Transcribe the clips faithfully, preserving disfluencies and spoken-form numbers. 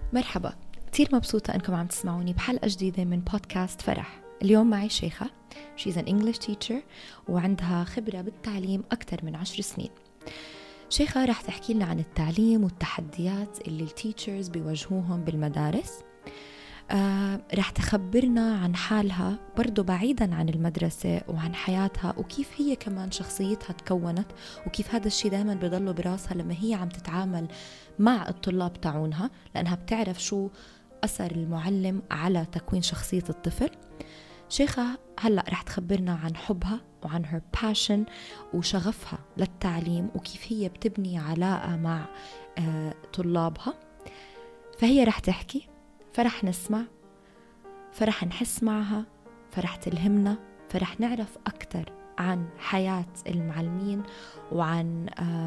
مرحبا، كتير مبسوطة أنكم عم تسمعوني بحلقة جديدة من بودكاست فرح. اليوم معي شيخة. She's an English teacher وعندها خبرة بالتعليم أكثر من عشر سنين. شيخة رح تحكي لنا عن التعليم والتحديات اللي التيتشرز بيواجهوهم بالمدارس. آه، رح تخبرنا عن حالها برضو بعيدا عن المدرسة وعن حياتها، وكيف هي كمان شخصيتها تكونت، وكيف هذا الشيء دائما بيضله براسها لما هي عم تتعامل مع الطلاب تاعونها، لأنها بتعرف شو أثر المعلم على تكوين شخصية الطفل. شيخة هلأ رح تخبرنا عن حبها وعن her passion وشغفها للتعليم، وكيف هي بتبني علاقة مع آه، طلابها. فهي رح تحكي، فرح نسمع، فرح نحس معها، فرح تلهمنا، فرح نعرف أكتر عن حياة المعلمين وعن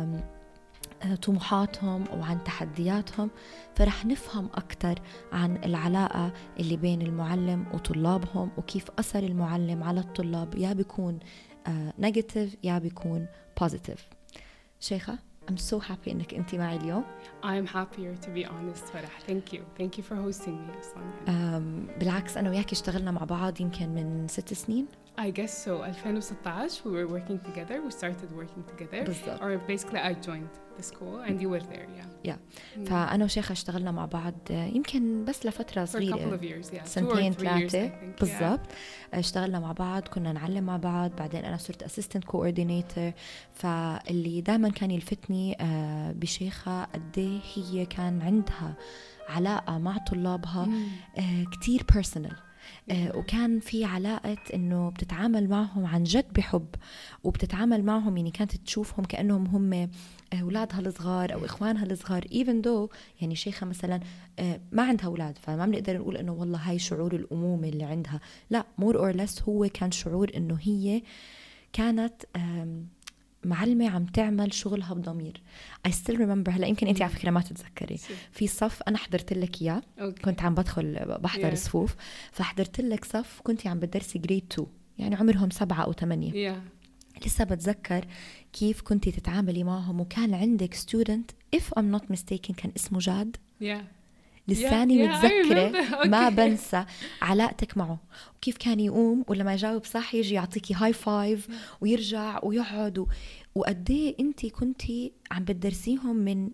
طموحاتهم وعن تحدياتهم، فرح نفهم أكتر عن العلاقة اللي بين المعلم وطلابهم، وكيف أثر المعلم على الطلاب يا بيكون نيجاتيف يا بيكون بوزيتيف. شيخة، I'm so happy إنك أنتي معي اليوم. I'm happier to be honest فرح. Thank you. Thank you for hosting me أصلاً. um, بالعكس أنا وياكي اشتغلنا مع بعض يمكن من ست سنين. I guess so. ألفين وستة عشر we were working together. We started working together. بالضبط. Or basically I joined the school and you were there. Yeah. Yeah. Mm. فأنا وشيخة اشتغلنا مع بعض يمكن بس لفترة صغيرة. For a couple of years. Yeah. سنتين ثلاثة بالضبط. Yeah. اشتغلنا مع بعض، كنا نعلم مع بعض، بعدين أنا صرت assistant coordinator. فاللي دائما كان يلفتني بشيخة قديه هي كان عندها علاقة مع طلابها mm. كتير personal. آه وكان في علاقة إنه بتتعامل معهم عن جد بحب، وبتتعامل معهم يعني كانت تشوفهم كأنهم هم أولادها الصغار أو إخوانها الصغار even though يعني شيخة مثلا آه ما عندها أولاد، فما بنقدر نقول إنه والله هاي شعور الأمومة اللي عندها، لا more or less هو كان شعور إنه هي كانت معلمة عم تعمل شغلها بضمير. I still remember هلا يمكن أنت على فكرة ما تتذكري في صف أنا حضرت لك إياه okay. كنت عم بدخل بحضر yeah. صفوف، فحضرت لك صف كنت عم بدرسي grade two يعني عمرهم سبعة أو ثمانية yeah. لسه بتذكر كيف كنتي تتعاملي معهم، وكان عندك student if I'm not mistaken كان اسمه جاد yeah. لساني yeah, yeah, متذكرة okay. ما بنسى علاقتك معه، وكيف كان يقوم ولما يجاوب صح يجي يعطيكي هاي فايف yeah. ويرجع ويقعد و... وقديه انتي كنتي عم بتدرسيهم من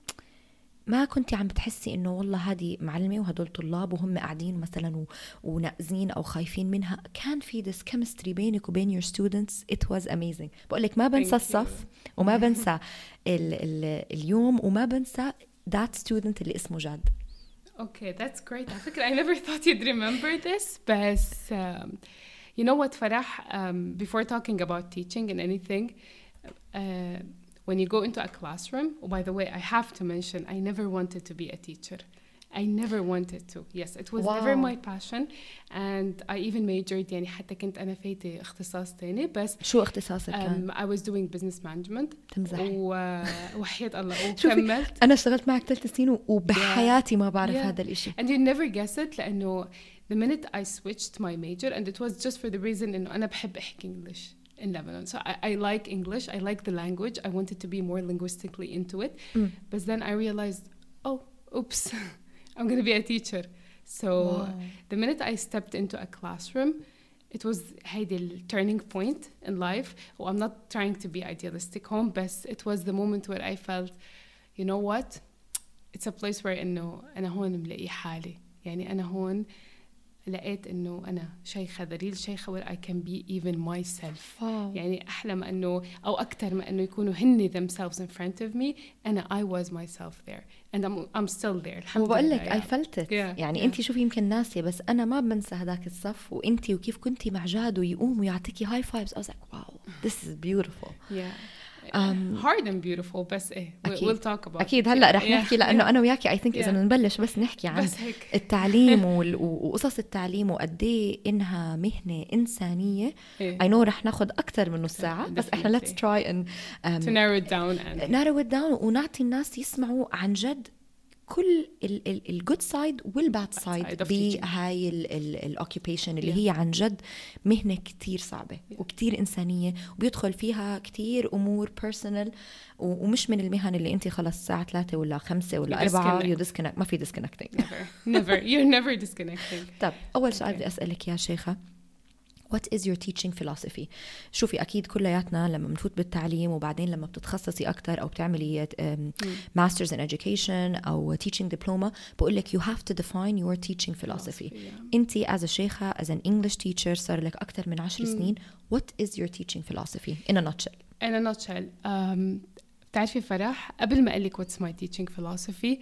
ما كنتي عم بتحسي انه والله هذه معلمة وهدول طلاب وهم قاعدين مثلا و... وناقزين او خايفين منها. كان في this chemistry بينك وبين your students. It was amazing. بقولك ما بنسى الصف وما بنسى ال... ال... اليوم وما بنسى that student اللي اسمه جاد. Okay, that's great. I think I never thought you'd remember this, but um, you know what, Farah, um, before talking about teaching and anything, uh, when you go into a classroom, oh, by the way, I have to mention, I never wanted to be a teacher. I never wanted to. Yes, it was wow. never my passion, and I even majored. يعني حتى كنت أنا فايتة اختصاص تاني بس. شو اختصاصك كان؟ Um, I was doing business management. تمزحي. وحياة الله وكملت. أنا اشتغلت معك ثلاث سنين وبحياتي ما بعرف yeah. هذا الإشي. And you never guess it لأنه the minute I switched my major, and it was just for the reason إنه أنا بحب أحكي English in Lebanon. So I, I like English. I like the language. I wanted to be more linguistically into it. Mm. But then I realized, oh, oops. I'm going to be a teacher. So wow. the minute I stepped into a classroom, it was هيدي the turning point in life. Oh, I'm not trying to be idealistic home, but it was the moment where I felt, you know what? It's a place where إنه أنا هون ملاقي حالي. يعني أنا هون لقيت إنه أنا شيخة ذليل شيخة where I can be even myself. wow. يعني أحلم إنه أو أكتر ما إنه يكونوا هني themselves in front of me. أنا I was myself there and I'm I'm still there. الحمد لله. وبقول لك yeah. I felt it. yeah. يعني yeah. أنتي شوفي يمكن ناسية بس أنا ما بنسى هذاك الصف وأنتي وكيف كنتي مع جاد ويقوم ويعطيكي high fives. I was like wow this is beautiful. yeah. Um, hard and beautiful بس إيه we'll talk about أكيد هلأ رح yeah. نحكي لأنه أنا وياكي I think yeah. إذا نبلش بس نحكي عن بس التعليم وقصص التعليم وقديه إنها مهنة إنسانية. إيه. I know رح ناخد أكتر من نص ساعة بس إحنا let's try and um, to narrow it down and narrow it down ونعطي الناس يسمعوا عن جد كل الجود سايد والباد سايد بهاي الاوكيبيشن اللي yeah. هي عن جد مهنة كتير صعبة yeah. وكتير إنسانية وبيدخل فيها كتير أمور بيرسونال ومش من المهن اللي أنت خلص الساعة ثلاثة ولا خمسة ولا أربعة يو disconnect. ما في disconnecting. never never you're never disconnecting. طب أول سؤال بدي أسألك يا شيخة, What is your teaching philosophy? شوفي أكيد كلياتنا لما بنفوت بالتعليم وبعدين لما بتتخصصي أكتر أو بتعملي um, masters in education أو teaching diploma بقول لك you have to define your teaching philosophy. yeah. أنتي as a شيخة as an English teacher صار لك أكتر من عشر سنين. What is your teaching philosophy in a nutshell? In a nutshell, um, بتعرفي فرح قبل ما أقول لك what's my teaching philosophy,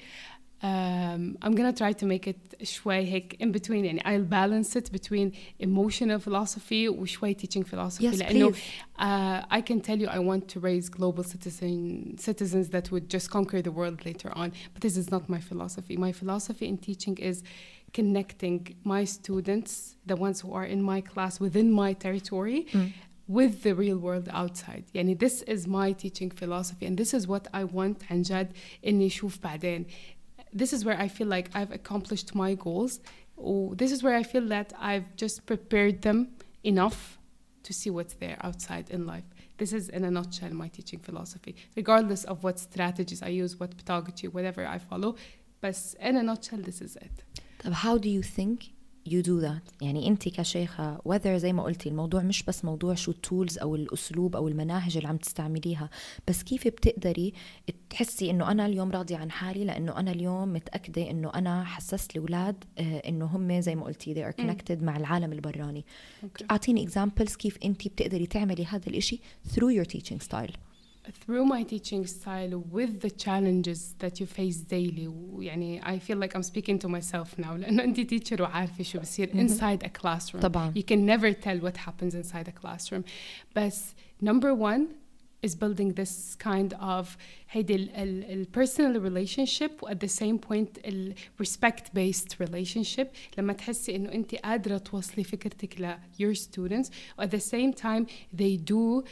Um, I'm gonna try to make it شوي هيك in between, يعني I'll balance it between emotional philosophy وشوي teaching philosophy. Yes, لأنه uh, I can tell you I want to raise global citizen, citizens that would just conquer the world later on, but this is not my philosophy. My philosophy in teaching is connecting my students, the ones who are in my class within my territory, mm. with the real world outside. يعني this is my teaching philosophy, and this is what I want عن جد إني أشوف بعدين. This is where I feel like I've accomplished my goals. Oh, this is where I feel that I've just prepared them enough to see what's there outside in life. This is in a nutshell my teaching philosophy, regardless of what strategies I use, what pedagogy, whatever I follow. But in a nutshell, this is it. طب how do you think you do that? يعني أنت كشيخة whether زي ما قلتي الموضوع مش بس موضوع شو التولز أو الأسلوب أو المناهج اللي عم تستعمليها, بس كيف بتقدري تحسي إنه أنا اليوم راضية عن حالي لأنه أنا اليوم متأكدة إنه أنا حسست الأولاد إنه هم زي ما قلتي they are connected mm. مع العالم البراني. okay. أعطيني examples كيف أنت بتقدري تعملي هذا الإشي through your teaching style. Through my teaching style with the challenges that you face daily. يعني I feel like I'm speaking to myself now لأنه أنت teacher وعارفة شو بصير inside a classroom. طبعا. You can never tell what happens inside a classroom. But number one is building this kind of هيدي ال, ال, ال personal relationship at the same point ال respect based relationship. لما تحسي إنه أنت قادرة توصلي فكرتك ل your students at the same time they do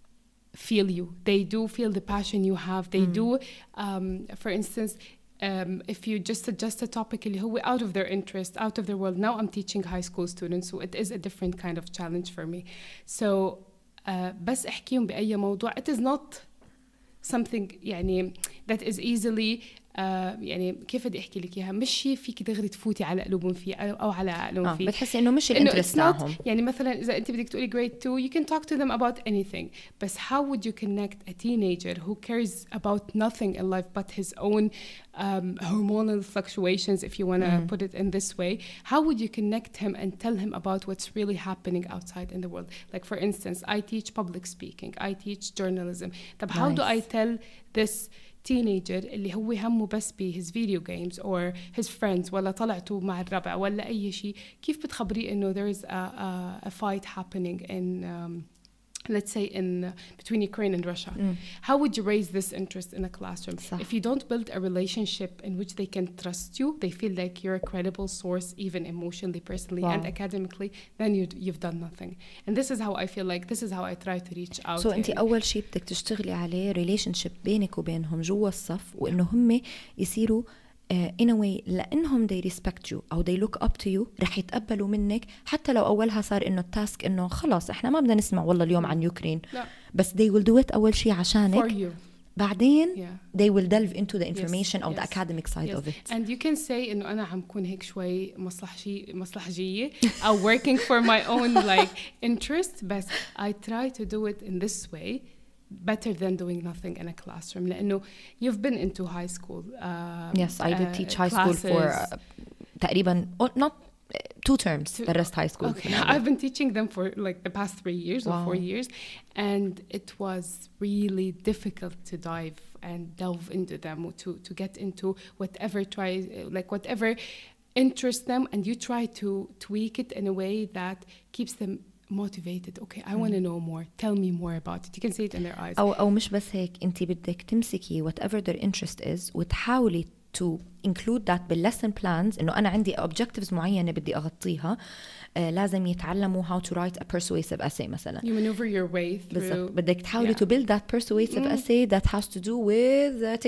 feel you, they do feel the passion you have, they mm. do um, for instance um, if you just suggest a topic اللي هو out of their interest, out of their world. Now I'm teaching high school students, so it is a different kind of challenge for me. So uh, بس احكيهم بأي موضوع, it is not something يعني that is easily uh, يعني كيف بدي احكي لك اياها, مش شيء فيك دغري تفوتي على قلوبهم فيه او على عقلهم آه فيه. بتحسي انه مش الانترست تاعهم. يعني مثلا اذا انت بدك تقولي grade two you can talk to them about anything, but how would you connect a teenager who cares about nothing in life but his own um, hormonal fluctuations, if you want to mm. put it in this way, how would you connect him and tell him about what's really happening outside in the world? Like for instance, I teach public speaking, I teach journalism. طب how nice. do I tell this teenager اللي هو همه بس ب his video games or his friends ولا طلعتوا مع الربع ولا أي شيء, كيف بتخبريه إنه there is a, a, a fight happening in um, let's say in uh, between Ukraine and Russia? mm. How would you raise this interest in a classroom? صح. If you don't build a relationship in which they can trust you, they feel like you're a credible source even emotionally, personally wow. and academically, then you, you've done nothing. And this is how I feel like this is how I try to reach out. So أنت أول شيء بدك تشتغلي عليه relationship بينك وبينهم جوا الصف, وإنه هم يصيروا Uh, in a way لأنهم they respect you أو they look up to you رح يتقبلوا منك, حتى لو أولها صار إنه التاسك إنه خلاص إحنا ما بدنا نسمع والله اليوم عن يوكرين, لا. بس they will do it أول شيء عشانك. For you. بعدين yeah. they will delve into the information yes. أو yes. the academic side yes. of it. And you can say إنه أنا عم كون هيك شوي مصلحجي مصلحجية أو working for my own like interest, but I try to do it in this way better than doing nothing in a classroom. لأنه you've been into high school. Um, yes, I did uh, teach high school for uh, تقريبا not uh, two terms. The rest high school. Okay. I've been teaching them for like the past three years wow. or four years, and it was really difficult to dive and delve into them, to to get into whatever try like whatever interests them, and you try to tweak it in a way that keeps them motivated. Okay, I want to know more. Tell me more about it. You can see it in their eyes. أو أو مش بس هيك, أنت بدك تمسكي whatever their interest is وتحاولي to include that بالlesson plans, إنه أنا عندي objectives معينة بدي أغطيها. uh, لازم يتعلموا how to write a persuasive essay مثلا. You maneuver your way through. بالضبط. بدك تحاولي yeah. to build that persuasive mm. essay that has to do with uh, TikTok.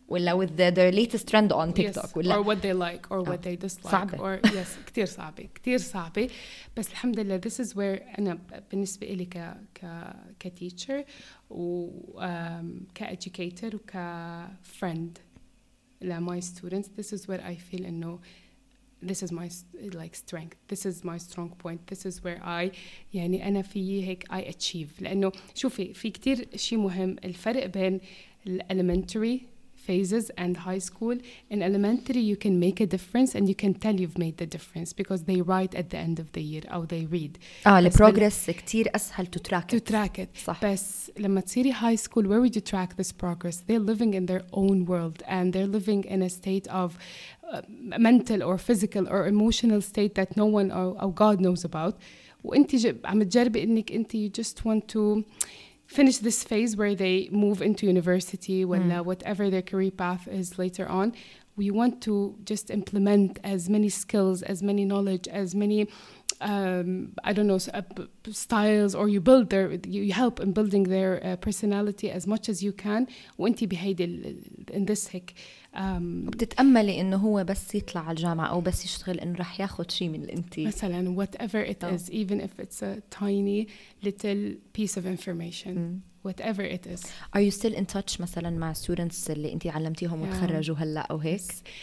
ولا with the, the latest trend on TikTok yes. ولا or what they like or what oh. they dislike صعبة. or yes كتير صعبة كتير صعبة بس الحمد لله this is where أنا بالنسبة إلي ك ك كتيتشر و um, كeducator و كfriend ل my students this is where I feel إنه this is my like strength this is my strong point this is where I يعني أنا في هيك I achieve لأنه شوفي في كتير شيء مهم الفرق بين elementary phases and high school. In elementary you can make a difference and you can tell you've made the difference because they write at the end of the year أو they read. اه البروجرس كتير أسهل to track to it. track it. صح. بس لما تصيري high school where would you track this progress? They're living in their own world and they're living in a state of uh, mental or physical or emotional state that no one or, or God knows about. وانتي عم تجربي انك انتي you just want to finish this phase where they move into university ولا mm. whatever their career path is later on. We want to just implement as many skills, as many knowledge, as many um, I don't know uh, styles, or you build their you help in building their uh, personality as much as you can. وانتي بهيدي in this هيك um, بتتأملي إنه هو بس يطلع على الجامعة أو بس يشتغل إنه رح ياخد شيء من الأنتي مثلا whatever it oh. is, even if it's a tiny little piece of information. Mm. whatever it is. Are you still in touch مثلا مع students اللي أنتي علمتيهم yeah. وتخرجوا هلا أو هيك؟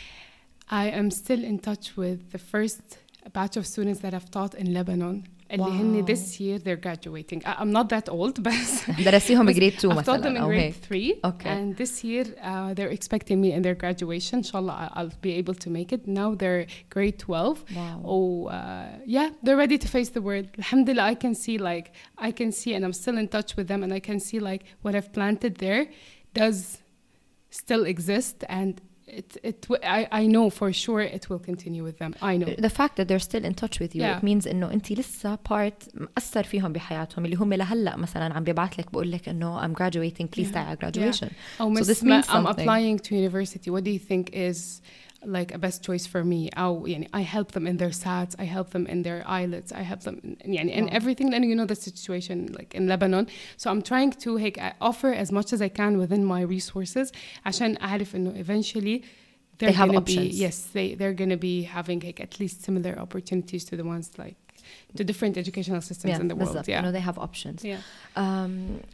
I am still in touch with the first batch of students that I've taught in Lebanon. اللي هن this year they're graduating. I'm not that old بس درسيهم grade two I've taught them مثلا in أو grade هيك. three Okay. and this year uh, they're expecting me in their graduation. Inshallah I'll be able to make it. Now they're grade twelve. Wow. Oh uh, yeah, they're ready to face the world. Alhamdulillah, I can see like I can see and I'm still in touch with them and I can see like what I've planted there does still exist and It, it, I, I know for sure it will continue with them. I know. The fact that they're still in touch with you, yeah. it means إنه أنتي لسه part مأثر فيهم بحياتهم اللي هم لهلا مثلا عم بيبعت لك بقول لك إنه I'm graduating, please yeah. stay at graduation. Yeah. Oh, so this means I'm applying to university. What do you think is like a best choice for me? أو يعني I help them in their S A Ts, I help them in their I E L T S, I help them in, يعني in wow. everything. And you know the situation like in Lebanon. So I'm trying to like, offer as much as I can within my resources عشان أعرف إنه eventually they're they have gonna options. Be, yes, they, they're going to be having like at least similar opportunities to the ones like the different educational systems yeah, in the world. Yeah, you know, they have options. Yeah. Um,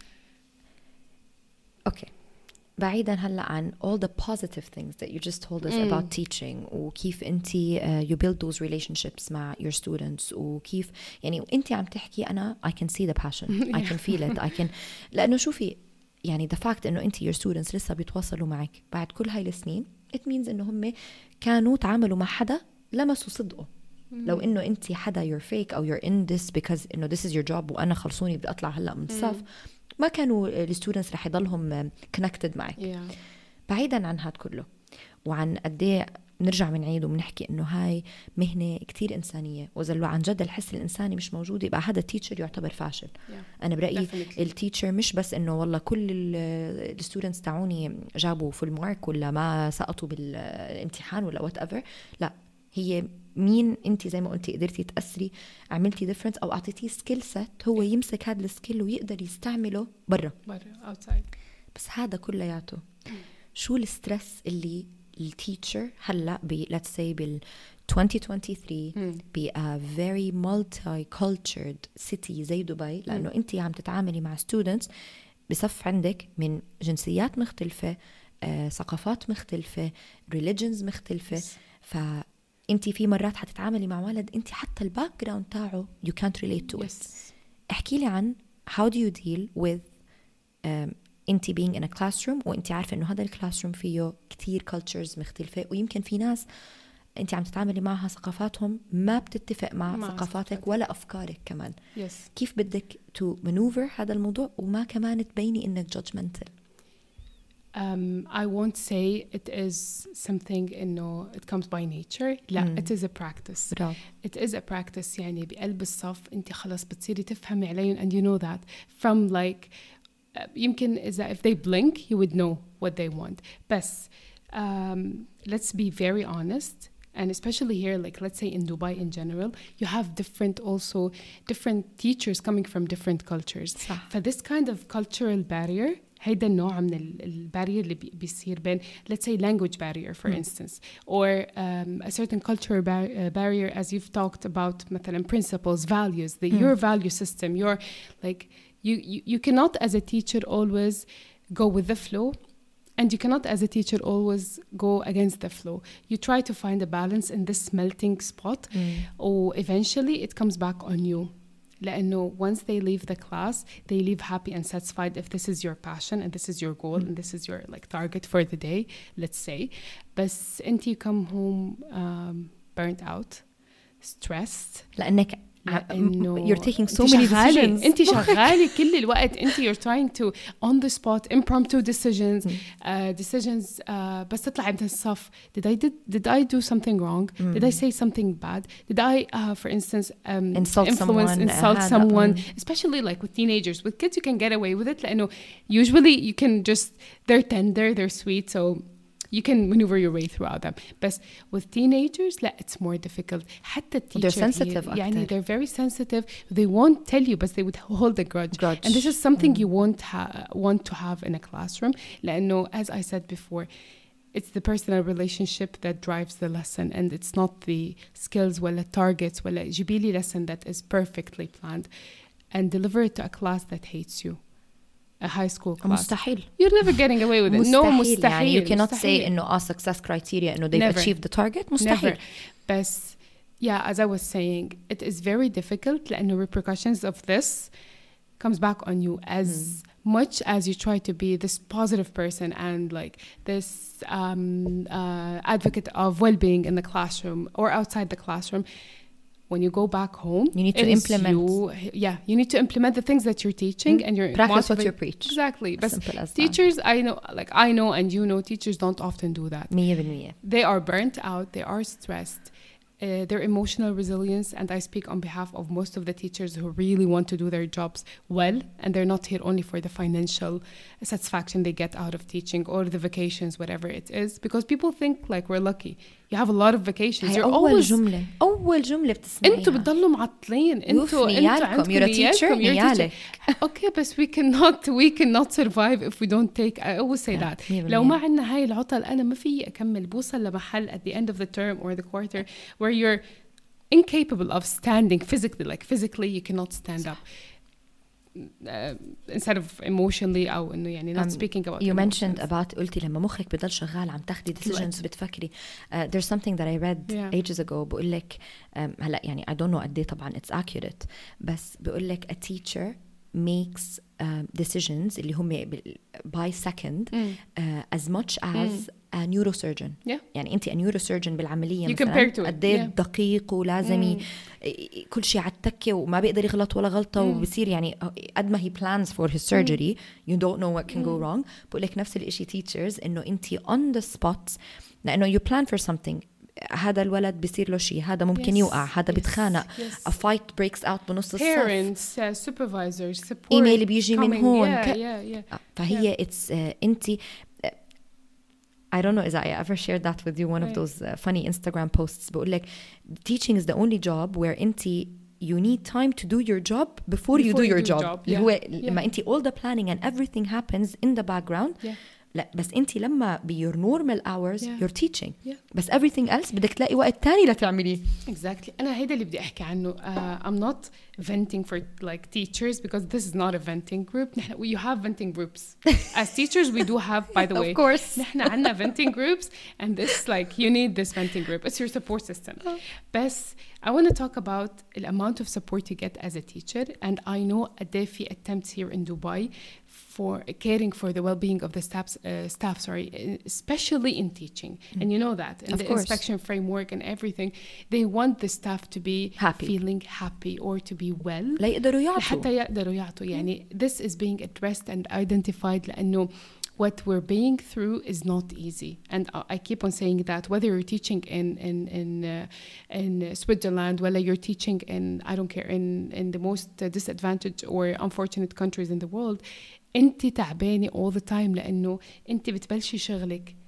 okay. بعيدا هلا عن all the positive things that you just told us mm. about teaching وكيف انتي uh, you build those relationships مع your students وكيف يعني انتي عم تحكي أنا I can see the passion yeah. I can feel it I can لأنه شوفي يعني the fact إنه انتي your students لسه بيتواصلوا معك بعد كل هاي السنين it means إنه هم كانوا تعاملوا مع حدا لمسوا صدقه mm. لو إنه انتي حدا you're fake أو you're in this because إنه this is your job وأنا خلصوني بدي أطلع هلا من الصف mm. ما كانوا الستودنتس رح يضلهم connected معك. yeah. بعيدا عن هاد كله وعن قديه نرجع بنعيد وبنحكي انه هاي مهنه كتير انسانيه واذا لو عن جد الحس الانساني مش موجود يبقى هذا التيتشر يعتبر فاشل. yeah. انا برايي التيتشر مش بس انه والله كل الستودنتس تاعوني جابوا فول مارك ولا ما سقطوا بالامتحان ولا وات ايفر، لا هي مين انت زي ما قلتي قدرتي تأثري عملتي ديفرنس او اعطيتيه سكيل سيت هو يمسك هذا السكيل ويقدر يستعمله برا برا outside. بس هذا كلياته شو الستريس اللي التيتشر هلا ب let's say بال twenty twenty-three ب a very multicultural city زي دبي لانه انت عم تتعاملي مع students بصف عندك من جنسيات مختلفة، آه، ثقافات مختلفة، religions مختلفة. ف انت في مرات حتتعاملي مع ولد انت حتى الباك جراوند تاعه you can't relate to it. احكي لي عن how do you deal with um, انت being in a classroom وانت عارفه انه هذا الكلاسروم فيه كتير cultures مختلفه ويمكن في ناس انت عم تتعاملي معها ثقافاتهم ما بتتفق مع, مع ثقافاتك ولا افكارك كمان. yes. كيف بدك to maneuver هذا الموضوع وما كمان تبيني انك judgmental؟ Um, I won't say it is something إنه it comes by nature. لا mm. it is a practice. برافو. It is a practice. يعني بقلب الصف أنت خلاص بتصيري تفهمي عليهم and you know that from like uh, يمكن إذا if they blink you would know what they want. بس um, let's be very honest. And especially here, like let's say in Dubai in general, you have different also different teachers coming from different cultures. For this kind of cultural barrier هيدا النوع من البارير اللي بيصير بين let's say language barrier for mm. instance or um, a certain cultural bar- uh, barrier as you've talked about مثلا principles, values, the, mm. your value system, your like you, you you cannot as a teacher always go with the flow. And you cannot, as a teacher, always go against the flow. You try to find a balance in this melting spot, mm. or eventually it comes back on you. لأنه once they leave the class, they leave happy and satisfied if this is your passion and this is your goal mm. and this is your like target for the day, let's say. But until you come home um, burnt out, stressed. لأنك you're taking so many decisions. انت شغالة كل الوقت. انت you're trying to on the spot impromptu decisions mm. uh, decisions uh, بس تطلعي من الصف. Did I did did I do something wrong? Mm. Did I say something bad? Did I uh, for instance um, insult influence someone, insult uh, someone? Mm. Especially like with teenagers. With kids you can get away with it لأنه usually you can just they're tender, they're sweet, so you can maneuver your way throughout them. But with teenagers, لا, it's more difficult. حتى التيتشر they're sensitive here, يعني they're very sensitive. They won't tell you, but they would hold a grudge. grudge. And this is something mm. you won't ha- want to have in a classroom. لأنه, as I said before, it's the personal relationship that drives the lesson, and it's not the skills ولا targets ولا جيبي لي lesson that is perfectly planned and deliver it to a class that hates you. A high school class. مستحيل. You're never getting away with it. مستحيل. No, مستحيل. يعني you cannot مستحيل. say إنه a success criteria إنه they've Never. achieved the target. مستحيل. Never. But yeah, as I was saying, it is very difficult لأنه repercussions of this comes back on you as mm. much as you try to be this positive person and like this um, uh, advocate of well-being in the classroom or outside the classroom. When you go back home, you need to implement. You, yeah, you need to implement the things that you're teaching mm. and you're practice what you preach. Exactly. As but simple as teachers, that. I know, like I know, and you know, teachers don't often do that. مية بالمية. They are burnt out. They are stressed. Uh, their emotional resilience, and I speak on behalf of most of the teachers who really want to do their jobs well, and they're not here only for the financial satisfaction they get out of teaching or the vacations, whatever it is, because people think like we're lucky. You have a lot of vacations. You're أول always جملة أول جملة بتسمعيها. أنتوا بتضلوا معطلين. أنتوا أنتوا عندكم You're a teacher. نيالك. Okay, but we cannot we cannot survive if we don't take. I always say that. لو ما عندنا هاي العطل أنا ما في أكمل. بوصل لمحل at the end of the term or the quarter where you're incapable of standing physically. Like physically, you cannot stand up. Uh, instead of emotionally أو إنه يعني not um, speaking about you emotions. mentioned about قلتي لما مخك بضل شغال عم تاخدي decisions بتفكري uh, there's something that I read yeah. ages ago بقول لك um, هلا يعني I don't know قد إيه طبعا it's accurate بس بقول لك a teacher makes um, decisions اللي هم by second mm. uh, as much as mm. a neurosurgeon yeah. يعني أنت a neurosurgeon بالعملية you مثلا قد إيه دقيق ولازم mm. كل شيء على التكة وما بيقدر يغلط ولا غلطة mm. وبصير يعني قد ما he plans for his surgery mm. you don't know what can mm. go wrong بقول لك نفس الإشي teachers إنه أنت on the spot لأنه you plan for something هذا الولد بيصير له شيء هذا ممكن yes. يوقع هذا yes. بيتخانق yes. a fight breaks out بنص الصف parents uh, supervisors support إيميل بيجي من هون yeah, yeah, yeah. فهي yeah. it's uh, أنت I don't know if I ever shared that with you one right. of those uh, funny Instagram posts بقول لك teaching is the only job where أنت you need time to do your job before, before you do you your do job, job. Yeah. هو لما yeah. أنت all the planning and everything happens in the background yeah. لا بس انت لما ب your normal hours yeah. you're teaching yeah. بس everything else بدك تلاقي وقت تاني لتعمليه exactly أنا هيدا اللي بدي أحكي عنه uh, I'm not venting for like teachers because this is not a venting group نحن you have venting groups as teachers we do have by the way of course نحن عنا venting groups and this like you need this venting group it's your support system oh. بس I want to talk about the amount of support you get as a teacher and I know a day في attempts here in Dubai for caring for the well-being of the staff, uh, staff sorry, especially in teaching. Mm. And you know that in of the course. inspection framework and everything, they want the staff to be happy. feeling happy or to be well. لا يقدروا يعطوا. حتى يقدروا يعطوا. يعني this is being addressed and identified لأنه what we're being through is not easy. And I keep on saying that whether you're teaching in in in uh, in Switzerland, whether you're teaching in I don't care in in the most uh, disadvantaged or unfortunate countries in the world, انت تعبانة all the time لأنه انت بتبلشي شغلك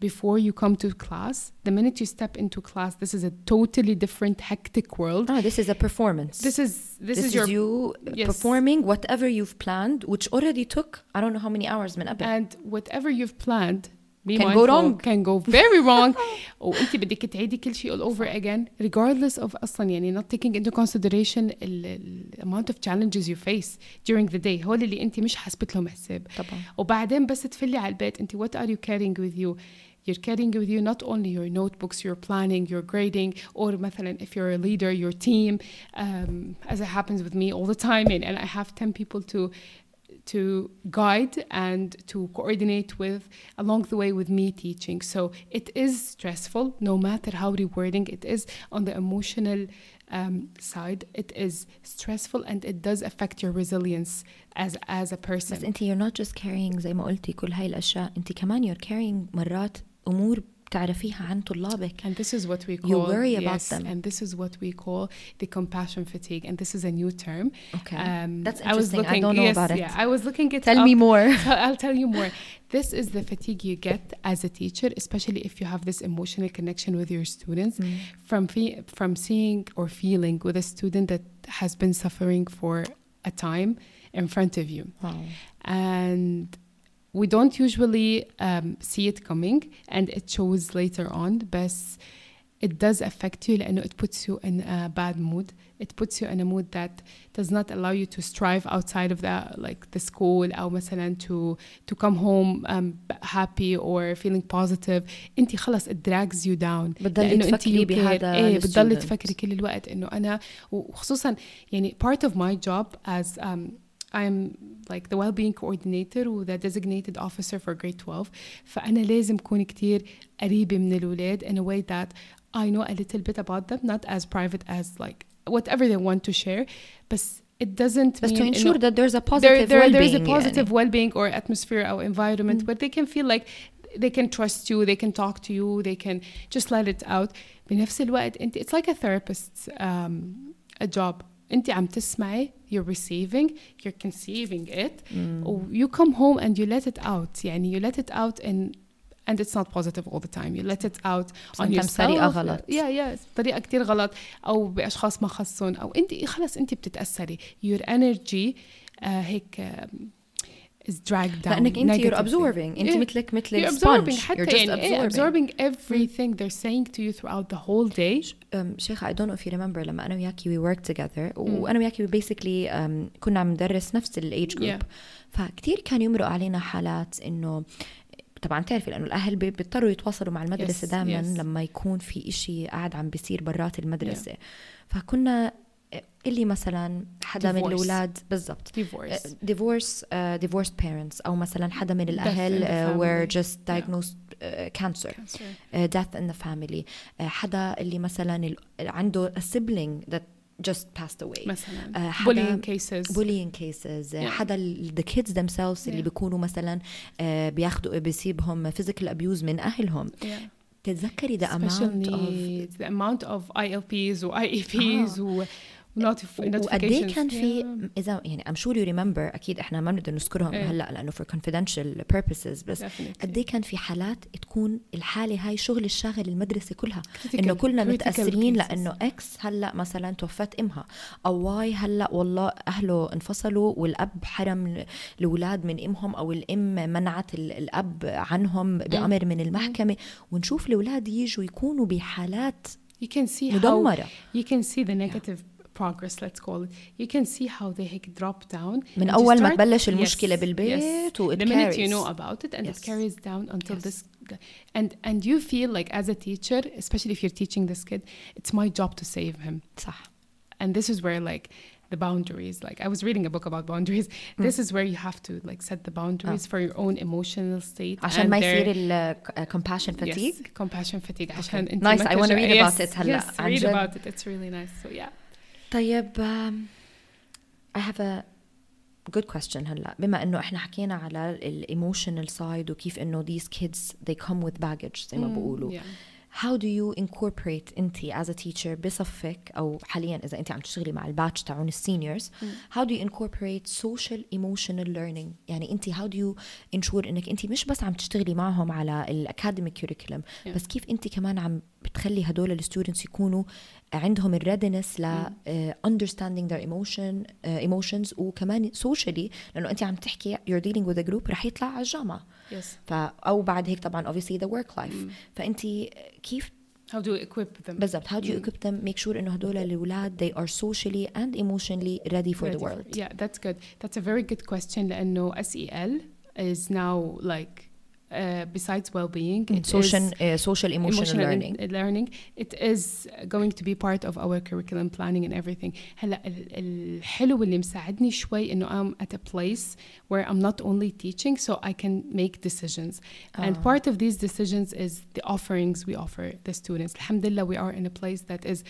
before you come to class. The minute you step into class, this is a totally different hectic world. Ah, this is a performance. This is this, this is, your is you yes. performing whatever you've planned, which already took I don't know how many hours من قبل. And whatever you've planned Be can go wrong. Can go very wrong. وانت بدك تعيدي كل شيء all over again, regardless of أصلا يعني not taking into consideration the amount of challenges you face during the day. هول اللي انت مش حاسبت لهم حساب. طبعا. وبعدين بس تفلي على البيت انت what are you carrying with you? You're carrying with you not only your notebooks, your planning, your grading, or مثلا if you're a leader, your team, um, as it happens with me all the time, and, and I have ten people to to guide and to coordinate with along the way with me teaching. So it is stressful, no matter how rewarding it is. On the emotional um, side, it is stressful and it does affect your resilience as as a person. بس انت you're not just carrying زي ما قلتي كل هاي الأشياء، انت كمان you're carrying مرات أمور تعرفيها عن طلابك. And this is what we call you worry yes, about them. And this is what we call the compassion fatigue. And this is a new term. Okay, um, that's I was interesting. looking, I don't know yes, about it. Yeah, I was looking it Tell up. me more. So I'll tell you more. This is the fatigue you get as a teacher, especially if you have this emotional connection with your students, mm. from fe- from seeing or feeling with a student that has been suffering for a time in front of you. Wow. And we don't usually um, see it coming, and it shows later on, but it does affect you لأنه it puts you in a bad mood. It puts you in a mood that does not allow you to strive outside of the like the school أو مثلا to to come home um, happy or feeling positive. أنت خلاص it drags you down. بتضلي تفكري بهذا إيه بتضلي تفكري كل الوقت إنه أنا وخصوصا يعني part of my job as um, I'm like the well-being coordinator و the designated officer for grade twelve. فأنا لازم كون كتير قريبة من الولاد in a way that I know a little bit about them, not as private as like whatever they want to share, but it doesn't but mean to ensure that there's a positive there, there, well-being. There's a positive يعني. well-being or atmosphere or environment mm. where they can feel like they can trust you, they can talk to you, they can just let it out. بنفس الوقت انت it's like a therapist's um, a job. انت عم تسمعي, you're receiving, you're conceiving it, mm. or you come home and you let it out. يعني you let it out in and it's not positive all the time. You let it out on yourself. طريقة غلط. Yeah, yeah. طريقة كتير غلط أو بأشخاص ما خصون أو أنت خلاص أنت بتتأثري. Your energy uh, هيك uh, is dragged down. لأنك أنت you're absorbing. أنت مثلك مثل sponge. You're just absorbing. absorbing everything they're saying to you throughout the whole day. Um, شيخة I don't know if you remember لما أنا وياكي we worked together. وأنا وياكي basically um, كنا عم ندرس نفس ال age group. Yeah. فكتير كان يمرق علينا حالات إنه طبعا تعرفي لأنه الأهل بيضطروا يتواصلوا مع المدرسة yes, دائما yes. لما يكون في إشي قاعد عم بيصير برات المدرسة. yeah. فكنا اللي مثلا حدا divorce. من الأولاد بالضبط divorce uh, divorce uh, divorced parents أو مثلا حدا من الأهل uh, were just diagnosed yeah. uh, cancer, cancer. Uh, death in the family. uh, حدا اللي مثلا عنده a sibling that just passed away مثلا uh, bullying cases bullying cases yeah. حدا the kids themselves yeah. اللي بيكونوا مثلا uh, بياخدوا بيصيبهم physical abuse من أهلهم. yeah. تتذكري the amount of the amount of I L Ps و I E Ps آه. و وقديه كان في yeah. إذا يعني I'm sure you remember أكيد إحنا ما بنقدر نذكرهم yeah. هلأ لأنه for confidential purposes بس قديه كان في حالات تكون الحالة هاي شغل الشاغل المدرسة كلها critical. إنه كلنا متأثرين لأنه X هلأ مثلا توفت إمها أو Y هلأ والله أهله انفصلوا والأب حرم الأولاد من إمهم أو الأم منعت الأب عنهم بأمر mm. من المحكمة mm. ونشوف الأولاد يجوا يكونوا بحالات you can see مدمرة. how you can see the negative yeah. progress, let's call it. You can see how they drop down من أول ما تبلش المشكلة بالبيت yes. the minute you know about it and yes. it carries down until yes. this and and you feel like as a teacher, especially if you're teaching this kid, it's my job to save him. صح. And this is where like the boundaries, like I was reading a book about boundaries. mm. This is where you have to like set the boundaries oh. for your own emotional state عشان ما يصير ال compassion fatigue. Yes, compassion fatigue. okay. عشان nice, I want to read about it هلا. Yes, read about it. It's really nice. So yeah. طيب um, I have a good question هلا بما إنه إحنا حكينا على ال emotional side وكيف إنه these kids they come with baggage زي ما بقولوا. yeah. how do you incorporate انتي as a teacher بصفك أو حاليا إذا انتي عم تشتغلي مع الباتش تاعون السينيورز how do you incorporate social emotional learning؟ يعني انتي how do you ensure انك انتي مش بس عم تشتغلي معهم على الacademic curriculum yeah. بس كيف انتي كمان عم بتخلي هدول الستودنتس يكونوا عندهم الريدنس ل uh, understanding their emotion uh, emotions وكمان socially لأنه أنت عم تحكي you're dealing with a group رح يطلع على الجامعة yes. ف أو بعد هيك طبعا obviously the work life mm. فأنت كيف how do you equip them بالضبط how do you mm. equip them make sure إنه هدول الأولاد they are socially and emotionally ready for ready the world for, yeah that's good that's a very good question لأنه S E L is now like Uh, besides well-being, mm, it social, is uh, social emotional, emotional learning. learning. It is going to be part of our curriculum planning and everything. هلا الحلو اللي مساعدني شوي إنه I'm at a place where I'm not only teaching, so I can make decisions. Oh. And part of these decisions is the offerings we offer the students. Alhamdulillah, we are in a place that is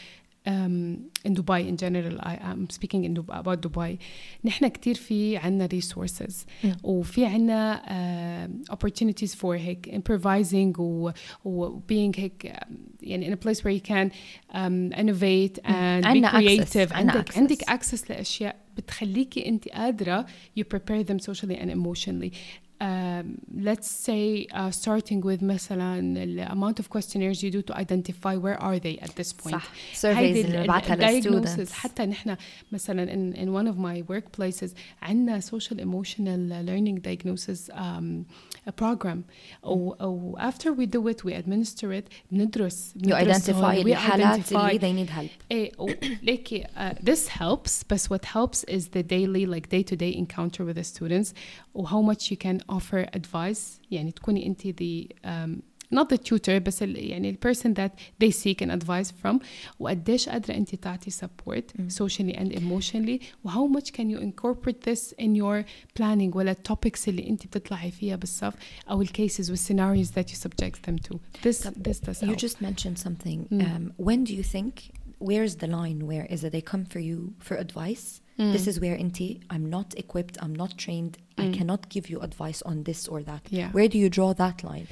Um, in Dubai in general. I am speaking in Dubai, about Dubai. نحن كتير في عنا resources mm. وفي عنا uh, opportunities for هيك improvising و, و being هيك يعني in a place where you can um, innovate mm. and be creative. access. عندك access. عندك access لأشياء بتخليكي أنت قادرة you prepare them socially and emotionally. Um, let's say uh, starting with مثلا the amount of questionnaires you do to identify where are they at this point. صح. surveys اللي بعتها للstudents. حتى نحن مثلا in, in one of my workplaces عندنا social emotional learning diagnosis um, a program أو, أو after we do it we administer it بندرس you identify الحالات اللي they need help. إيه like uh, this helps but what helps is the daily like day to day encounter with the students or how much you can offer advice يعني تكوني أنت the um, not the tutor بس ال, يعني the person that they seek an advice from وقديش قادرة أنت تعطي support mm. socially and emotionally و how much can you incorporate this in your planning ولا topics اللي أنت بتطلعي فيها بالصف أو ال cases و scenarios that you subject them to. This, this does you help. just mentioned something. Mm. Um, when do you think, where's the line where is it they come for you for advice? Mm. This is where inti, I'm not equipped, I'm not trained, mm. I cannot give you advice on this or that. Yeah. Where do you draw that line?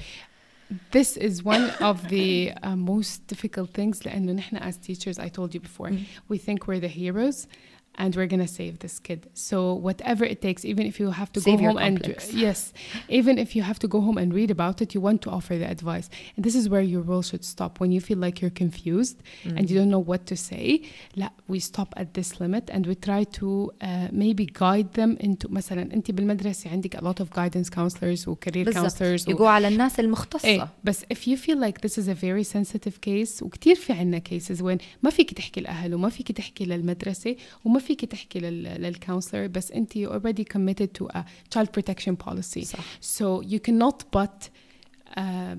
This is one of the uh, most difficult things لأنه نحن as teachers, I told you before, mm. we think we're the heroes and we're gonna save this kid. So whatever it takes, even if you have to save go home complex. and yes, even if you have to go home and read about it, you want to offer the advice. And this is where your role should stop. When you feel like you're confused mm. and you don't know what to say, لا, we stop at this limit and we try to uh, maybe guide them into مثلا أنت بالمدرسة عندك a lot of guidance counselors و career counselors يقوا على الناس المختصة. إيه, بس if you feel like this is a very sensitive case وكتير في عنا cases وين ما فيك تحكي الأهل وما فيك تحكي للمدرسة وما فيك تحكي للcounselor بس أنت already committed to a child protection policy. صح. So you cannot but um,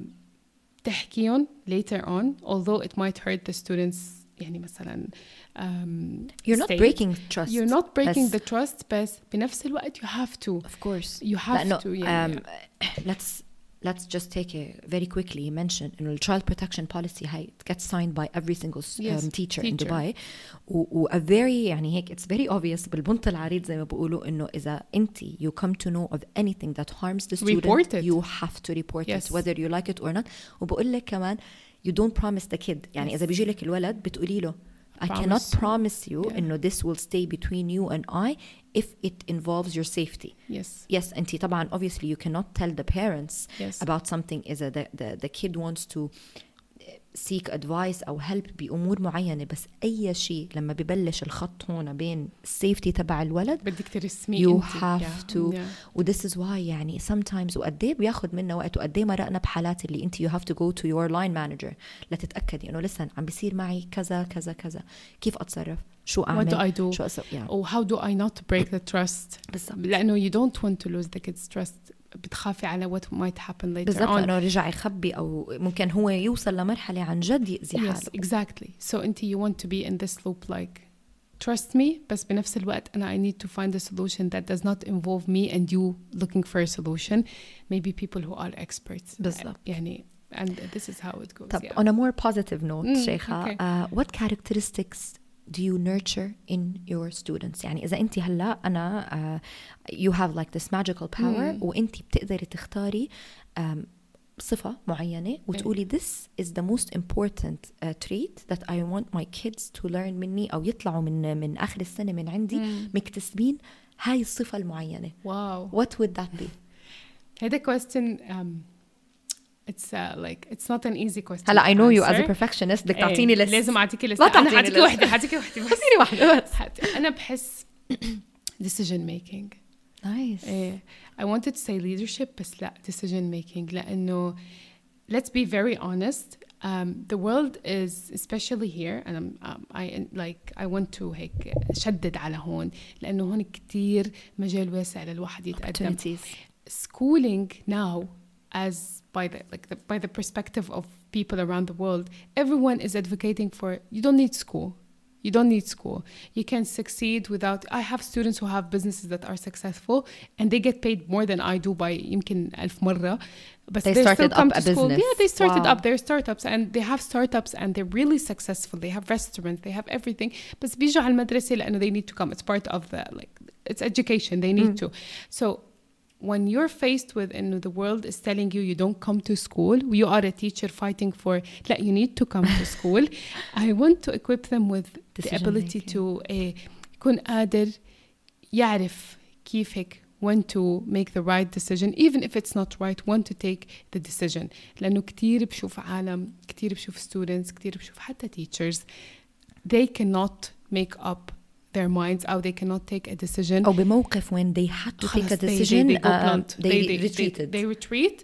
تحكيهم later on although it might hurt the students يعني مثلا um, you're not state. breaking trust. You're not breaking بس the trust بس بنفس الوقت you have to. Of course. You have لأنه, to. Yeah, um, yeah. Let's let's just take it very quickly. You mentioned you know, the child protection policy هاي gets signed by every single um, yes, teacher, teacher in Dubai. و, و a very يعني هيك it's very obvious بالبنط العريض زي ما بقولوا إنه إذا أنت you come to know of anything that harms the student, report it. you have to report yes. it whether you like it or not. وبقول لك كمان you don't promise the kid. يعني yes. إذا بيجي لك الولد بتقولي له I cannot promise you yeah. إنه this will stay between you and I if it involves your safety. Yes. Yes, أنتي طبعاً obviously you cannot tell the parents yes. about something إذا the, the, the kid wants to seek advice أو help بأمور معينة بس أي شيء لما ببلش الخط هون بين safety تبع الولد بدك ترسمي you انتي. have yeah. to yeah. و this is why يعني sometimes وقديه بياخد منا وقت وقديه مرقنا بحالات اللي انتي you have to go to your line manager لتتأكدي إنه listen عم بيصير معي كذا كذا كذا كيف أتصرف شو أعمل what do I do شو أسوي yeah. or how do I not break the trust بالضبط. لأنه you don't want to lose the kid's trust بتخافي على what might happen later بالضبط on لأنه رجع يخبي أو ممكن هو يوصل لمرحلة عن جد يأذي حاله. yes exactly so أنت you want to be in this loop like trust me بس بنفس الوقت أنا I need to find a solution that does not involve me and you looking for a solution maybe people who are experts بالضبط يعني and this is how it goes. طب yeah. on a more positive note mm, شيخة okay. uh, what characteristics do you nurture in your students يعني إذا أنت هلأ أنا uh, you have like this magical power mm. وأنت بتقدري تختاري um, صفة معينة وتقولي this is the most important uh, trait that I want my kids to learn مني أو يطلعوا من من آخر السنة من عندي مم. مكتسبين هاي الصفة المعينة. واو. What would that be? هذا question um, it's uh, like it's not an easy question. هلا I know you as a perfectionist بدك تعطيني list. لازم أعطيكي list. أنا حاعطيكي واحدة حاعطيكي واحدة بس. حاعطيني واحدة بس. أنا بحس decision making. Nice. إيه. I wanted to say leadership بس لا decision making لأنه let's be very honest um, the world is especially here and I'm, um, I like I want to هيك شدد على هون لأنه هون كتير مجال واسع للواحد يتقدم. Schooling now as by the like the, by the perspective of people around the world, everyone is advocating for you don't need school. You don't need school. You can succeed without... I have students who have businesses that are successful and they get paid more than I do by يمكن ألف مرة. But they they started still come up to a school. business. Yeah, they started wow. up their startups and they have startups and they're really successful. They have restaurants, they have everything. بس بيجوا على المدرسة لأنه they need to come. It's part of the... like it's education. They need mm. to. So when you're faced with and the world is telling you you don't come to school, you are a teacher fighting for that you need to come to school. I want to equip them with the ability making. to uh, يكون قادر يعرف كيف هيك when to make the right decision even if it's not right, when to take the decision. لأنه كتير بشوف عالم كتير بشوف students كتير بشوف حتى teachers they cannot make up their minds or they cannot take a decision أو بموقف when they had to take a decision they, they, they, go blunt. Uh, they, they retreated they, they retreat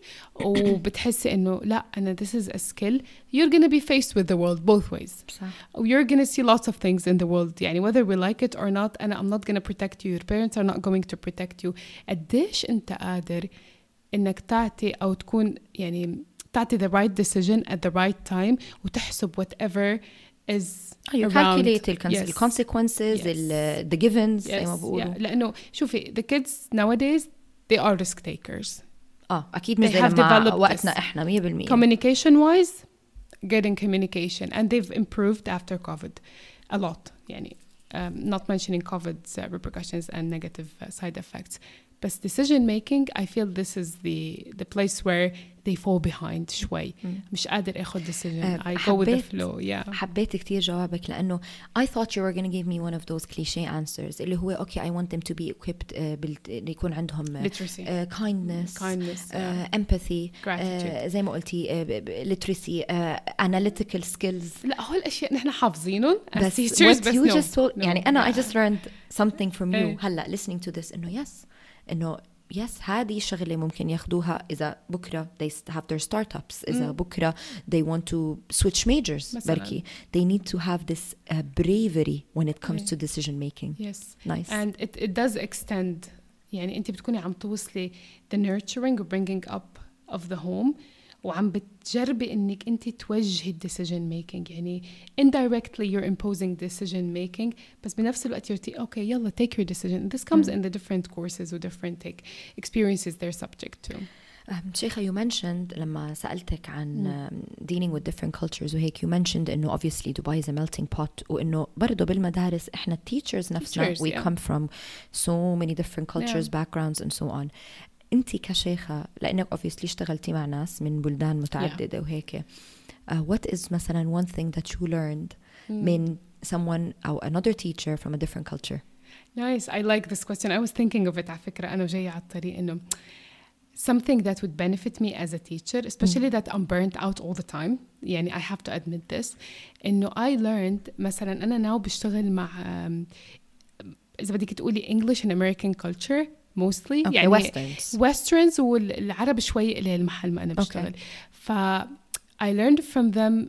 وبتحس إنه لا أنا this is a skill. You're gonna be faced with the world both ways. صح. You're gonna see lots of things in the world يعني whether we like it or not and I'm not gonna protect you, your parents are not going to protect you. قديش أنت قادر إنك تعطي أو تكون يعني تعطي the right decision at the right time وتحسب whatever is oh, you around. calculate the yes. consequences, yes. the, the givens. Yes. Yeah. لأنه شوفي the kids nowadays they are risk takers. آه أكيد مش زي لما وقتنا إحنا مية بالمية. Communication wise, getting communication and they've improved after COVID a lot. يعني um, not mentioning COVID's uh, repercussions and negative uh, side effects. But decision making, I feel this is the the place where they fall behind شوي. مش قادر أخذ decision. I go with the flow. Yeah. حبيت كتير جوابك لأنه I thought you were going to give me one of those cliché answers اللي هو okay I want them to be equipped uh, بال يكون عندهم literacy, uh, kindness, kindness, uh, yeah. empathy, gratitude. uh, زي ما قلتي uh, literacy, uh, analytical skills. لا هول الأشياء نحن حافظينهم as بس teachers what بس you no. just told no. يعني أنا yeah. I just learned something from you. hey. هلا listening to this إنه yes إنه yes هذه الشغلة ممكن ياخدوها إذا بكرة they have their startups إذا mm. بكرة they want to switch majors بركي they need to have this uh, bravery when it comes yeah. to decision making. Yes. Nice. And it, it does extend يعني أنت بتكوني عم توصلي the nurturing or bringing up of the home وعم بتجربي إنك أنت توجهي decision making يعني indirectly you're imposing decision making بس بنفس الوقت you're t- okay يلا take your decision. This comes mm. in the different courses or different take experiences they're subject to. um, شيخة you mentioned لما سألتك عن um, dealing with different cultures وهيك you mentioned إنه obviously Dubai is a melting pot وإنه برضو بالمدارس إحنا teachers نفسنا teachers, we yeah. come from so many different cultures yeah. backgrounds and so on. أنتي كشيخة لأنك obviously اشتغلتي مع ناس من بلدان متعددة yeah. وهيك uh, what is مثلا one thing that you learned mm. من someone أو another teacher from a different culture? Nice. I like this question. I was thinking of it على فكرة أنا جاية على الطريق إنه something that would benefit me as a teacher especially mm. that I'm burnt out all the time يعني I have to admit this إنه I learned مثلا أنا now بشتغل مع um, إذا بدك تقولي English and American culture mostly okay, يعني westerns westerns والعرب شوي اللي المحل ما أنا بشتغل okay. ف I learned from them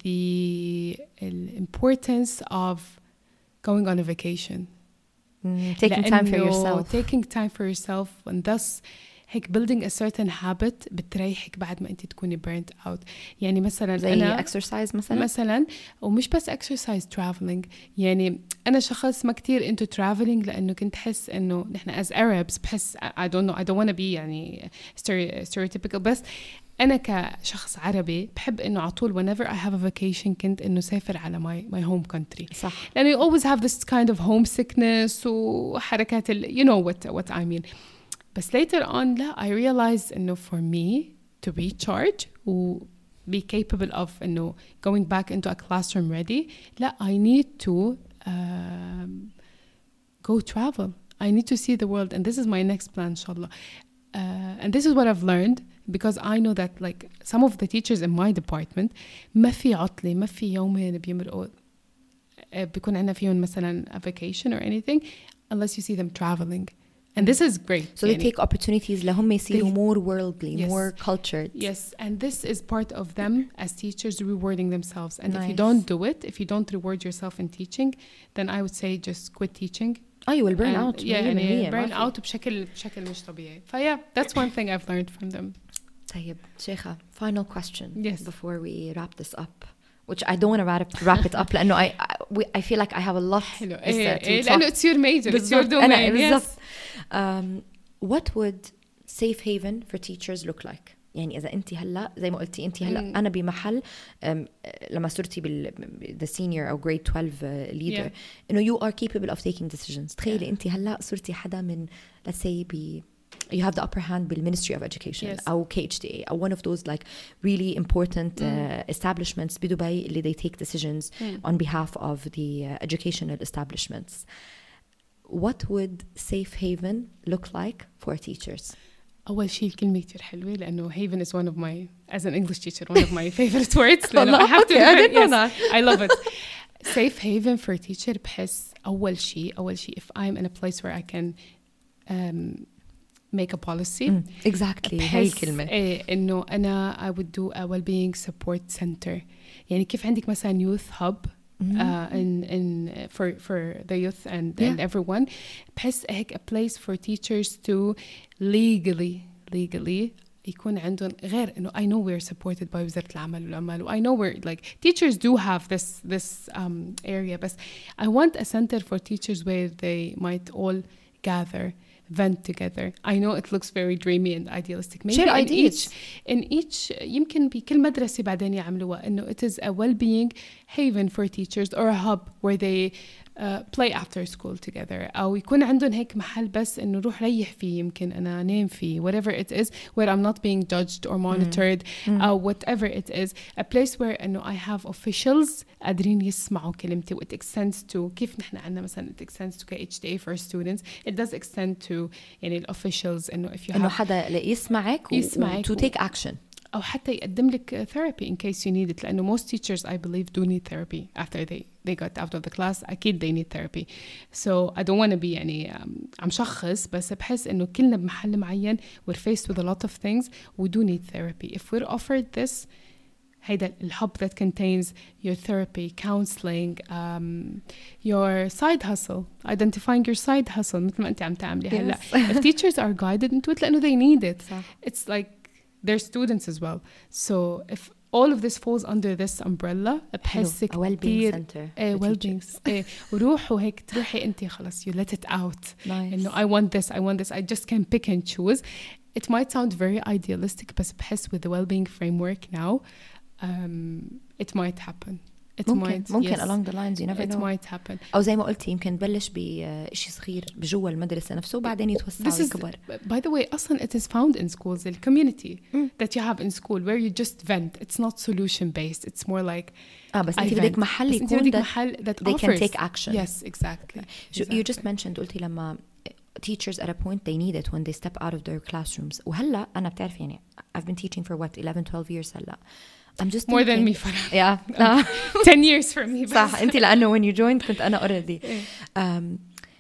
the, the importance of going on a vacation mm, taking time for yourself taking time for yourself and thus هيك building a certain habit بتريحك بعد ما أنت تكوني burnt out يعني مثلا زي أنا exercise مثلا مثلا ومش بس exercise traveling يعني أنا شخص ما كتير into traveling لأنه كنت حس إنه نحن as Arabs بحس I don't know I don't want to be يعني stereotypical بس أنا كشخص عربي بحب إنه عطول whenever I have a vacation كنت إنه سافر على my my home country صح لأنه you always have this kind of homesickness وحركات ال you know what what I mean. But later on, لا, I realized إنه for me to recharge و be capable of إنه going back into a classroom ready. لا, I need to um, go travel. I need to see the world, and this is my next plan inshallah. Uh, and this is what I've learned, because I know that like some of the teachers in my department ما في عطلة ما في يومين بيمرقوا بيكون عنا فيهم مثلا a vacation or anything unless you see them traveling. And this is great. So they take opportunities لهم يصيروا more worldly, yes. more cultured. Yes, and this is part of them as teachers rewarding themselves. And nice. if you don't do it, if you don't reward yourself in teaching, then I would say just quit teaching. Oh, you will burn and, out. Yeah, يعني burn out بشكل بشكل مش طبيعي. ف yeah, that's one thing I've learned from them. طيب شيخة, final question yes. before we wrap this up, which I don't want to wrap, wrap it up لأنه I, I, we, I feel like I have a lot to لأنه it's your major, it's your domain. Yes. Um, what would safe haven for teachers look like? يعني إذا أنت هلا زي ما قلتي أنت هلا mm. أنا بمحل um, لما صرتي بال the senior أو grade twelve uh, leader yeah. إنه you are capable of taking decisions. تخيلي yeah. أنت هلا صرتي حدا من let's say ب you have the upper hand بال Ministry of Education yes. أو K H D A أو one of those like really important mm. uh, establishments بدبي اللي they take decisions mm. on behalf of the uh, educational establishments. What would safe haven look like for teachers? أول شيء الكلمة كتير حلوة لأنه haven is one of my, as an English teacher, one of my favorite words. لأنه I have to I didn't know that. I love it. Safe haven for teacher بحس أول شيء أول شيء if I'm in a place where I can um, make a policy. Mm, exactly. هاي الكلمة. إيه إنه أنا I would do a well-being support center. يعني كيف عندك مثلا youth hub Mm-hmm. Uh, in in for for the youth and, yeah. and everyone بحس هيك a place for teachers to legally legally يكون عندهم غير إنه I know we're supported by وزارة العمل والعمل I know we're like teachers do have this this um, area but I want a center for teachers where they might all gather vent together. I know it looks very dreamy and idealistic. Maybe Share in ideas. each in each يمكن بكل مدرسة بعدين يعملوها إنه it is a well-being haven for teachers or a hub where they uh, play after school together أو يكون عندهم هيك محل بس إنه روح ريح فيه يمكن أنا نام فيه whatever it is where I'm not being judged or monitored mm. أو whatever it is a place where إنه I have officials قادرين يسمعوا كلمتي it extends to كيف نحن عنا مثلا it extends to K H D A for students it does extend to يعني ال officials إنه if you إنه have حدا يسمعك يسمعك to take action أو حتى يقدم لك therapy in case you need it لأنه most teachers I believe do need therapy after they they got out of the class أكيد they need therapy so I don't want to be يعني um, عم شخص بس بحس إنه كلنا بمحل معين we're faced with a lot of things we do need therapy if we're offered this هيدا الحب that contains your therapy, counseling, um, your side hustle, identifying your side hustle مثل ما أنت عم تعملي هلا. If teachers are guided into it لأنه they need it. صح. It's like they're students as well. So if all of this falls under this umbrella بحسك a well-being center a well-being eh, وروحوا هيك تروحي أنت خلاص you let it out. Nice. إنه I want this, I want this, I just can pick and choose. It might sound very idealistic بس بحس with the well-being framework now Um, it might happen. It ممكن might, ممكن yes. along the lines you never it know. It might happen. أو زي ما قلتي يمكن بلش بشيء صغير بجوا المدرسة نفسه وبعدين يتوسع ويكبر. By the way, أصلاً it is found in schools, the community mm. that you have in school where you just vent. It's not solution based. It's more like آه بس أنت بدك محل يكون بدك محل that they offers. can take action. Yes, exactly. So exactly. You just mentioned قلتي لما teachers at a point they need it when they step out of their classrooms. وهلا أنا بتعرف يعني I've been teaching for what eleven twelve years هلا. I'm just more thinking, than me Farah. Yeah. Uh, ten years for me. صح أنت لأنه when you joined كنت أنا already. Um,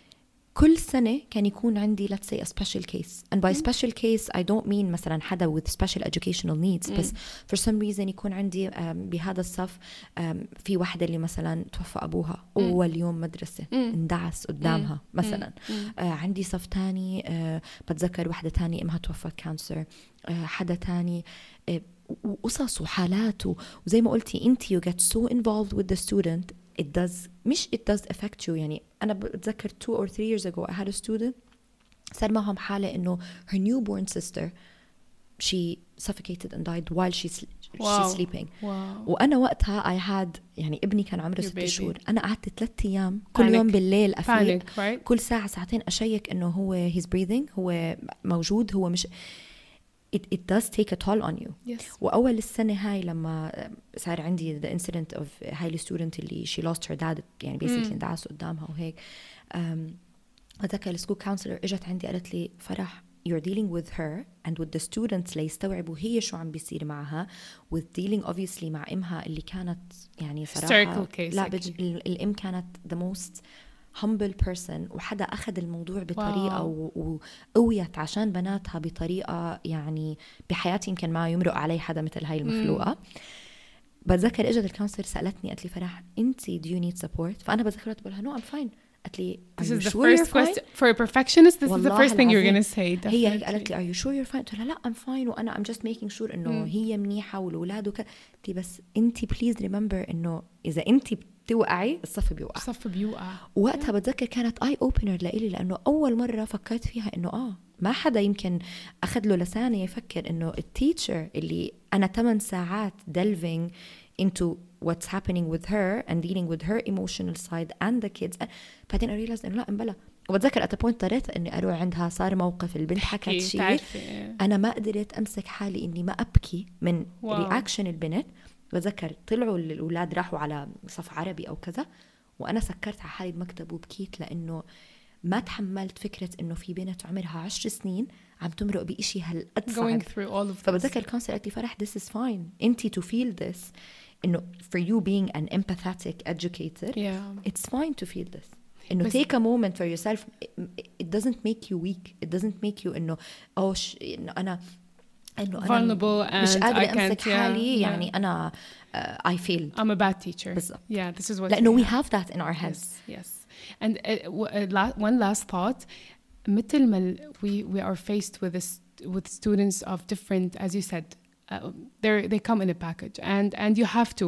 كل سنة كان يكون عندي let's say a special case and by mm. special case I don't mean مثلا حدا with special educational needs mm. بس for some reason يكون عندي um, بهذا الصف um, في واحدة اللي مثلا توفى أبوها mm. أول يوم مدرسة mm. اندعس قدامها mm. مثلا mm. uh, عندي صف تاني uh, بتذكر واحدة تاني إمها توفى كانسر uh, حدا تاني uh, وقصص وحالات وزي ما قلتي انت you get so involved with the student it does مش it does affect you يعني أنا بتذكر two or three years ago I had a student صار معهم حالة إنه her newborn sister she suffocated and died while she's wow. she's sleeping wow. وأنا وقتها I had يعني ابني كان عمره ست شهور أنا قعدت ثلاثة أيام كل Panic. يوم بالليل أفيق Panic, right? كل ساعة ساعتين أشيك إنه هو he's breathing هو موجود هو مش it, it does take a toll on you. Yes. وأول السنة هاي لما صار عندي the incident of هاي الستودنت اللي she lost her dad يعني basically اندعس قدامها وهيك أتذكر السكول كونسلر إجت عندي قالت لي فرح you're dealing with her and with the students ليستوعبوا هي شو عم بيصير معها with dealing obviously مع إمها اللي كانت يعني صراحة لا بج... الإم كانت the most humble person وحدا أخذ الموضوع بطريقة و... وقويت عشان بناتها بطريقة يعني بحياتي يمكن ما يمرق علي حدا مثل هاي المخلوقة. بتذكر إجت الكونسلر سألتني قالت لي فرح أنتي do you need support؟ فأنا بتذكرت بقولها no I'm fine. قالت لي This is the first question for a perfectionist. This is the first thing you're gonna say. Definitely. هي قالت لي are you sure you're fine؟ قلت لها لا I'm fine وأنا I'm just making sure إنه هي منيحة والأولاد وكذا. قلت لي بس أنتي please remember إنه إذا أنتي بتوقعي الصف بيوقع. الصف بيوقع. وقتها بتذكر كانت eye opener لإلي لأنه أول مرة فكرت فيها إنه آه ما حدا يمكن أخذ له لسانة يفكر إنه التيتشر اللي أنا ثمان ساعات delving into what's happening with her and dealing with her emotional side and the kids. بعدين I realized إنه لا انبلا. وبتذكر at a point اضطريت إني أروح عندها صار موقف البنت حكت شيء أنا ما قدرت أمسك حالي إني ما أبكي من رياكشن البنت. بتذكر طلعوا الأولاد راحوا على صف عربي أو كذا وأنا سكرت على حالي المكتب وبكيت لأنه ما تحملت فكرة إنه في بنت عمرها عشر سنين عم تمرق بإشي هالقد صعب. فبتذكر الكونسل قالت لي فرح this is fine أنتي to feel this إنه for you being an empathetic educator yeah. it's fine to feel this إنه take a moment for yourself. it doesn't make you weak. it doesn't make you إنه أو ش... إنه أنا إنه vulnerable مش قادرة أمسك yeah, حالي yeah. يعني أنا uh, I failed. I'm a bad teacher. بالضبط. Yeah, this is what. لأنه we have that in our heads. Yes, yes. And uh, uh, one last thought. مثل ما we we are faced with this with students of different, as you said, uh, they they come in a package, and and you have to,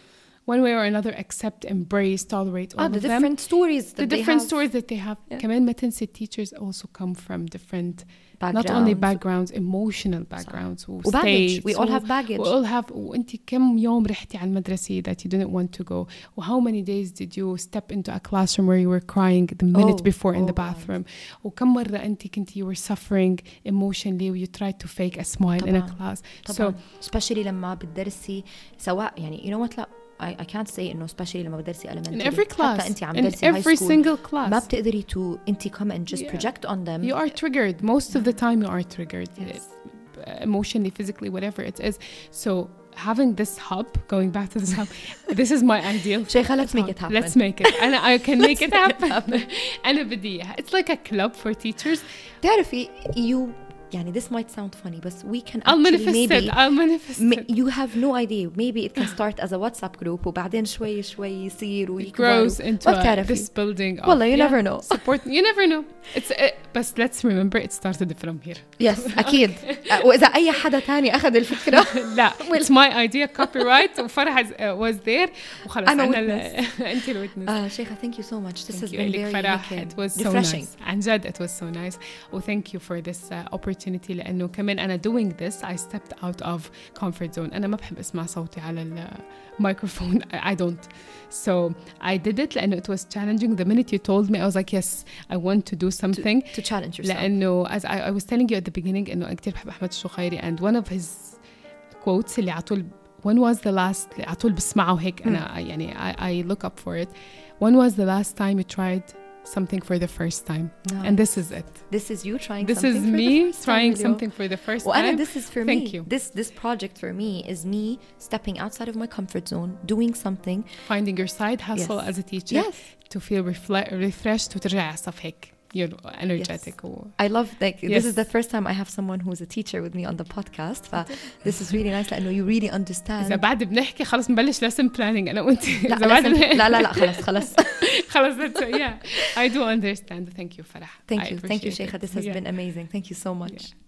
one way or another, accept, embrace, tolerate all ah, of the them. different stories that the they different have. stories that they have. Yeah. كمان ما تنسي teachers also come from different. Backgrounds. Not only backgrounds, emotional baggage. وbaggage. We all have baggage. We all have. وأنت كم يوم رحتي على المدرسة that you didn't want to go? Or how many days did you step into a classroom where you were crying the minute oh, before in oh the bathroom? وكم مرة أنت كنتي you were suffering emotionally and you tried to fake a smile طبعاً. in a class. طبعاً. So especially لما بتدرسي سواء يعني you know what لا I, I can't say إنه especially لما بدرسي elementary. In every class. حتى أنت عم in درسي every high school single class. ما بتقدري to أنت come and just yeah. project on them. You are triggered. Most of the time you are triggered. Yes. Emotionally, physically, whatever it is. So having this hub, going back to this hub, this is my ideal. شيخة, let's make it happen. Let's make it. And I can make it happen. أنا بدي. It's like a club for teachers. تعرفي you يعني this might sound funny but we can I'll actually manifest maybe it. I'll manifest ma- it. you have no idea maybe it can start as a WhatsApp group وبعدين شوي شوي يصير ويكبر grows into a, this building والله you yeah, never know support you never know it's uh, but let's remember it started from here. yes أكيد. وإذا أي حدا تاني أخذ الفكرة لا it's my idea copyright وفرح was there وخلاص أنا أنا أنت ال witness. آه شيخة thank you so much. This thank has you. been very فرح like, it was so refreshing. nice. عن جد it was so nice. و thank you for this uh, opportunity لأنه كمان أنا doing this I stepped out of comfort zone. أنا ما بحب أسمع صوتي على الميكروفون. I don't. So I did it لأنه it was challenging. The minute you told me I was like yes I want to do something to, to challenge yourself. لأنه as I, I was telling you at the beginning إنه كتير بحب أحمد الشخيري and one of his quotes اللي عطول when was the last عطول بسمعه هيك أنا يعني I, I look up for it. When was the last time you tried something for the first time? Nice. And this is it. This is you trying this something is for me the first trying time, something for the first well, time. Anna, this is for Thank me. you. This this project for me is me stepping outside of my comfort zone, doing something, finding your side hustle yes. as a teacher yes. to feel refle- refreshed وترجع على الصف هيك you're energetic. Yes. I love like yes. This is the first time I have someone who's a teacher with me on the podcast. This is really nice لأنه you really understand. إذا بعد بنحكي خلاص نبلش lesson planning أنا وأنت. لا بعد لا لا لا خلاص خلاص. خلاص yeah I do understand. Thank you فرح. Thank you. Thank you شيخة. This has yeah. been amazing. Thank you so much. Yeah.